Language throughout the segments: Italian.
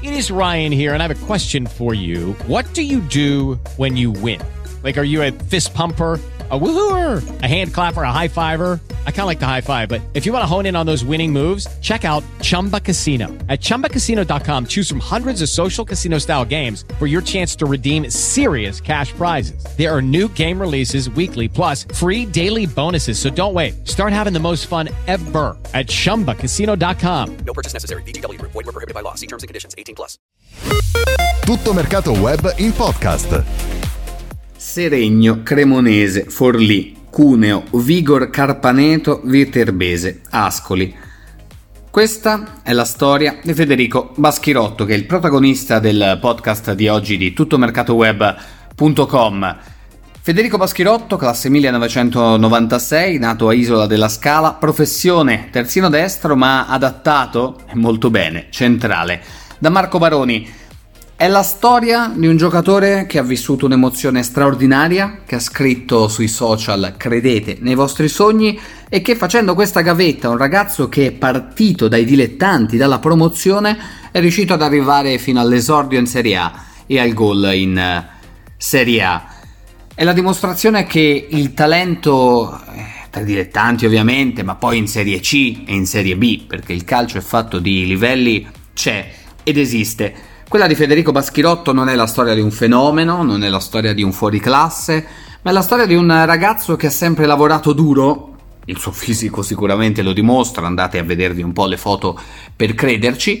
It is Ryan here, and I have a question for you. What do you do when you win? Like, are you a fist pumper, a woohooer, a hand clapper, a high fiver? I kind of like the high five, but if you want to hone in on those winning moves, check out Chumba Casino. At ChumbaCasino.com, choose from hundreds of social casino style games for your chance to redeem serious cash prizes. There are new game releases weekly, plus free daily bonuses. So don't wait. Start having the most fun ever at ChumbaCasino.com. No purchase necessary. VGW Group. Void where prohibited by law. See terms and conditions. 18+. Tutto mercato web in podcast. Seregno, Cremonese, Forlì, Cuneo, Vigor Carpaneto, Viterbese, Ascoli. Questa è la storia di Federico Baschirotto, che è il protagonista del podcast di oggi di tuttomercatoweb.com. Federico Baschirotto, classe 1996, nato a Isola della Scala, professione terzino destro ma adattato, e molto bene, centrale, da Marco Baroni. È la storia di un giocatore che ha vissuto un'emozione straordinaria, che ha scritto sui social "credete nei vostri sogni" e che, facendo questa gavetta, un ragazzo che è partito dai dilettanti, dalla promozione, è riuscito ad arrivare fino all'esordio in Serie A e al gol in Serie A. È la dimostrazione che il talento, tra i dilettanti ovviamente, ma poi in Serie C e in Serie B, perché il calcio è fatto di livelli, c'è ed esiste. Quella di Federico Baschirotto non è la storia di un fenomeno, non è la storia di un fuoriclasse, ma è la storia di un ragazzo che ha sempre lavorato duro. Il suo fisico sicuramente lo dimostra, andate a vedervi un po' le foto per crederci,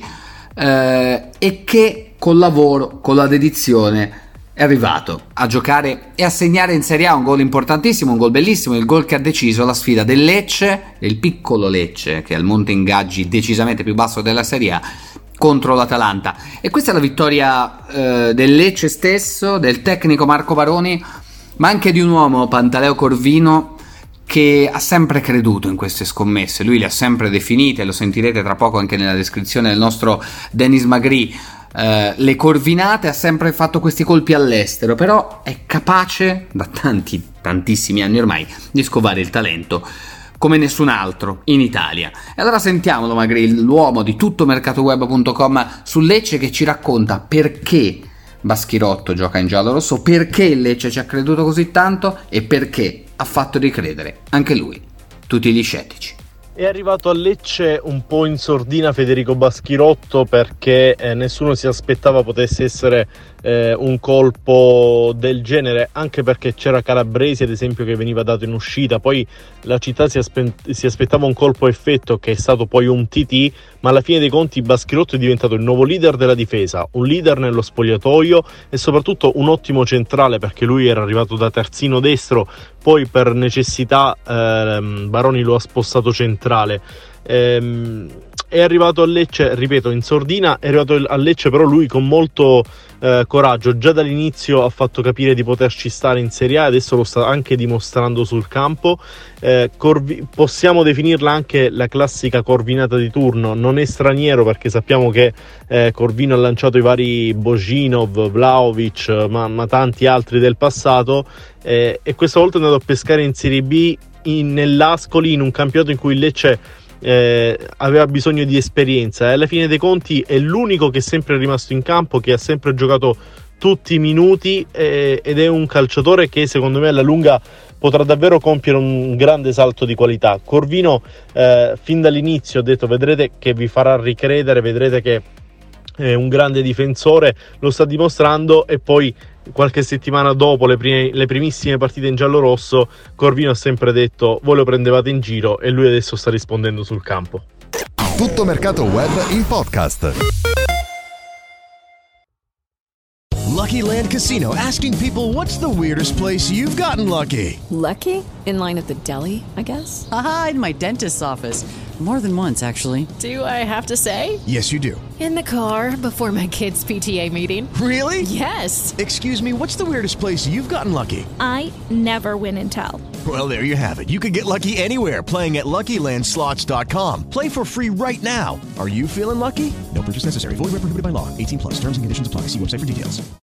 e che col lavoro, con la dedizione, è arrivato a giocare e a segnare in Serie A un gol importantissimo, un gol bellissimo, il gol che ha deciso la sfida del Lecce, del piccolo Lecce, che è al monte ingaggi decisamente più basso della Serie A, contro l'Atalanta. E questa è la vittoria del Lecce stesso, del tecnico Marco Baroni, ma anche di un uomo, Pantaleo Corvino, che ha sempre creduto in queste scommesse. Lui le ha sempre definite, lo sentirete tra poco anche nella descrizione del nostro Denis Magri, le corvinate. Ha sempre fatto questi colpi all'estero, però è capace da tantissimi anni ormai di scovare il talento come nessun altro in Italia. E allora sentiamolo Magri, l'uomo di tuttomercatoweb.com, su Lecce, che ci racconta perché Baschirotto gioca in giallorosso, perché il Lecce ci ha creduto così tanto e perché ha fatto ricredere anche lui tutti gli scettici. È arrivato a Lecce un po' in sordina Federico Baschirotto, perché nessuno si aspettava potesse essere un colpo del genere, anche perché c'era Calabresi ad esempio che veniva dato in uscita. Poi la città si aspettava un colpo a effetto, che è stato poi un TT, ma alla fine dei conti Baschirotto è diventato il nuovo leader della difesa, un leader nello spogliatoio e soprattutto un ottimo centrale, perché lui era arrivato da terzino destro, poi per necessità Baroni lo ha spostato centrale. È arrivato a Lecce, ripeto, in sordina. È arrivato a Lecce però lui con molto coraggio, già dall'inizio ha fatto capire di poterci stare in Serie A e adesso lo sta anche dimostrando sul campo. Possiamo definirla anche la classica corvinata di turno, non è straniero perché sappiamo che Corvino ha lanciato i vari Božinov, Vlahovic, ma tanti altri del passato, e questa volta è andato a pescare in Serie B nell'Ascoli, in un campionato in cui il Lecce aveva bisogno di esperienza, e alla fine dei conti è l'unico che è sempre rimasto in campo, che ha sempre giocato tutti i minuti, ed è un calciatore che secondo me alla lunga potrà davvero compiere un grande salto di qualità. Corvino fin dall'inizio ha detto: vedrete che vi farà ricredere, vedrete che è un grande difensore, lo sta dimostrando. E poi qualche settimana dopo le primissime partite in giallo-rosso, Corvino ha sempre detto: voi lo prendevate in giro, e lui adesso sta rispondendo sul campo. Tutto mercato web in podcast. Lucky Land Casino, asking people, what's the weirdest place you've gotten lucky? Lucky? In line at the deli, I guess? Aha, in my dentist's office. More than once, actually. Do I have to say? Yes, you do. In the car before my kids' PTA meeting. Really? Yes. Excuse me, what's the weirdest place you've gotten lucky? I never win and tell. Well, there you have it. You can get lucky anywhere, playing at LuckyLandSlots.com. Play for free right now. Are you feeling lucky? No purchase necessary. Void where prohibited by law. 18+. Terms and conditions apply. See website for details.